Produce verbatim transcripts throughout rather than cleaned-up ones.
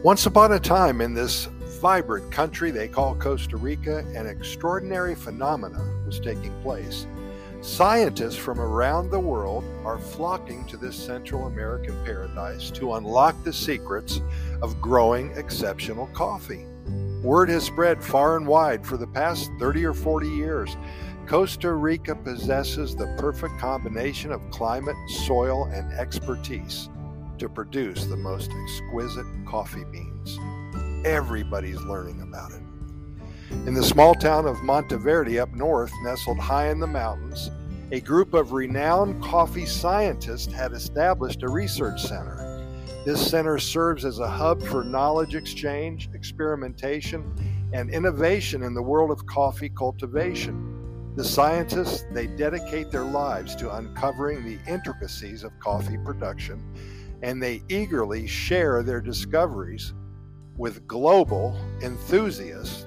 Once upon a time in this vibrant country they call Costa Rica, an extraordinary phenomena was taking place. Scientists from around the world are flocking to this Central American paradise to unlock the secrets of growing exceptional coffee. Word has spread far and wide for the past thirty or forty years. Costa Rica possesses the perfect combination of climate, soil, and expertise to produce the most exquisite coffee beans. Everybody's learning about it. In the small town of Monteverde up north, nestled high in the mountains, a group of renowned coffee scientists had established a research center. This center serves as a hub for knowledge exchange, experimentation, and innovation in the world of coffee cultivation. The scientists, they dedicate their lives to uncovering the intricacies of coffee production, and they eagerly share their discoveries with global enthusiasts.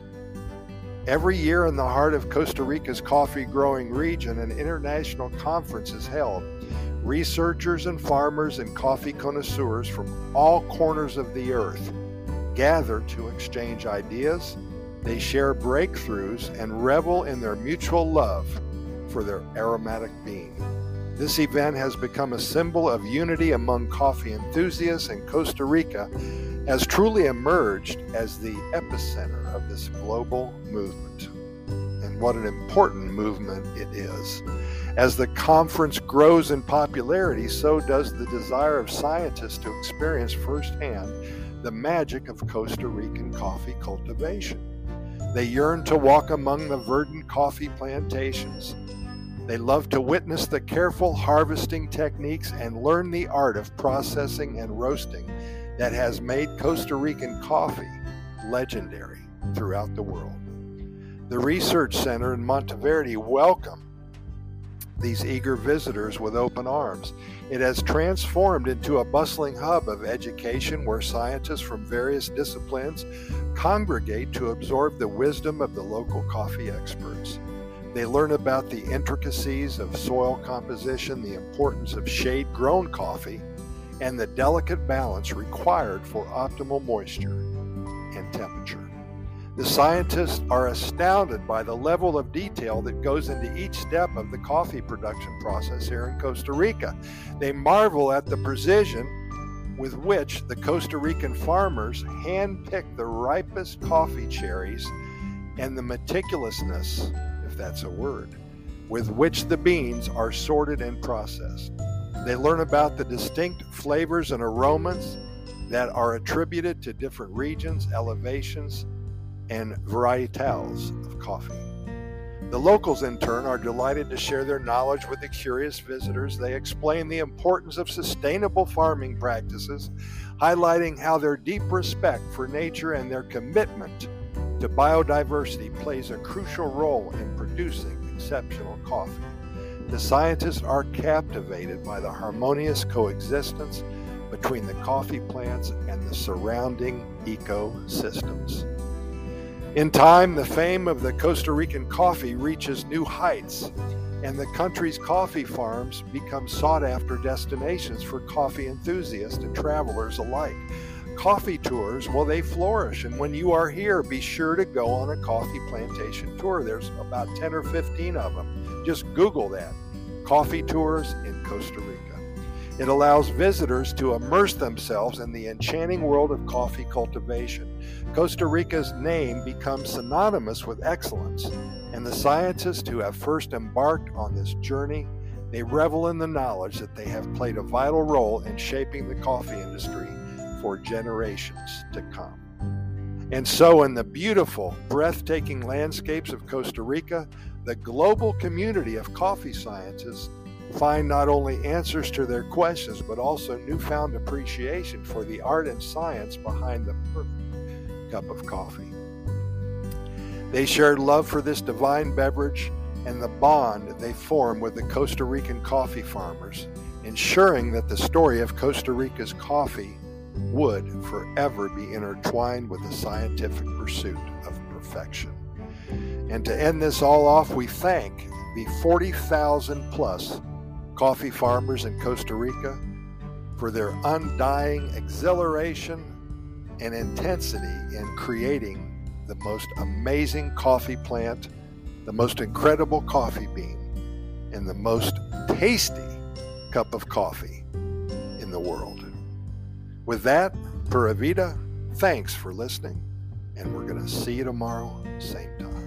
Every year in the heart of Costa Rica's coffee growing region, an international conference is held. Researchers and farmers and coffee connoisseurs from all corners of the earth gather to exchange ideas. They share breakthroughs and revel in their mutual love for their aromatic bean. This event has become a symbol of unity among coffee enthusiasts, and Costa Rica has truly emerged as the epicenter of this global movement. And what an important movement it is. As the conference grows in popularity, so does the desire of scientists to experience firsthand the magic of Costa Rican coffee cultivation. They yearn to walk among the verdant coffee plantations. They love to witness the careful harvesting techniques and learn the art of processing and roasting that has made Costa Rican coffee legendary throughout the world. The Research Center in Monteverde welcomed these eager visitors with open arms. It has transformed into a bustling hub of education where scientists from various disciplines congregate to absorb the wisdom of the local coffee experts. They learn about the intricacies of soil composition, the importance of shade-grown coffee, and the delicate balance required for optimal moisture and temperature. The scientists are astounded by the level of detail that goes into each step of the coffee production process here in Costa Rica. They marvel at the precision with which the Costa Rican farmers handpick the ripest coffee cherries and the meticulousness, if that's a word, with which the beans are sorted and processed. They learn about the distinct flavors and aromas that are attributed to different regions, elevations, and varietals of coffee. The locals, in turn, are delighted to share their knowledge with the curious visitors. They explain the importance of sustainable farming practices, highlighting how their deep respect for nature and their commitment to biodiversity plays a crucial role in producing exceptional coffee. The scientists are captivated by the harmonious coexistence between the coffee plants and the surrounding ecosystems. In time, the fame of the Costa Rican coffee reaches new heights, and the country's coffee farms become sought-after destinations for coffee enthusiasts and travelers alike. Coffee tours, well, they flourish, and when you are here, be sure to go on a coffee plantation tour. There's about ten or fifteen of them. Just Google that, coffee tours in Costa Rica. It allows visitors to immerse themselves in the enchanting world of coffee cultivation. Costa Rica's name becomes synonymous with excellence, and the scientists who have first embarked on this journey, they revel in the knowledge that they have played a vital role in shaping the coffee industry for generations to come. And so in the beautiful, breathtaking landscapes of Costa Rica, the global community of coffee scientists find not only answers to their questions, but also newfound appreciation for the art and science behind the perfect cup of coffee. They shared love for this divine beverage and the bond they form with the Costa Rican coffee farmers, ensuring that the story of Costa Rica's coffee would forever be intertwined with the scientific pursuit of perfection. And to end this all off, we thank the forty thousand plus coffee farmers in Costa Rica for their undying exhilaration and intensity in creating the most amazing coffee plant, the most incredible coffee bean, and the most tasty cup of coffee in the world. With that, Pura Vida, thanks for listening, and we're going to see you tomorrow, same time.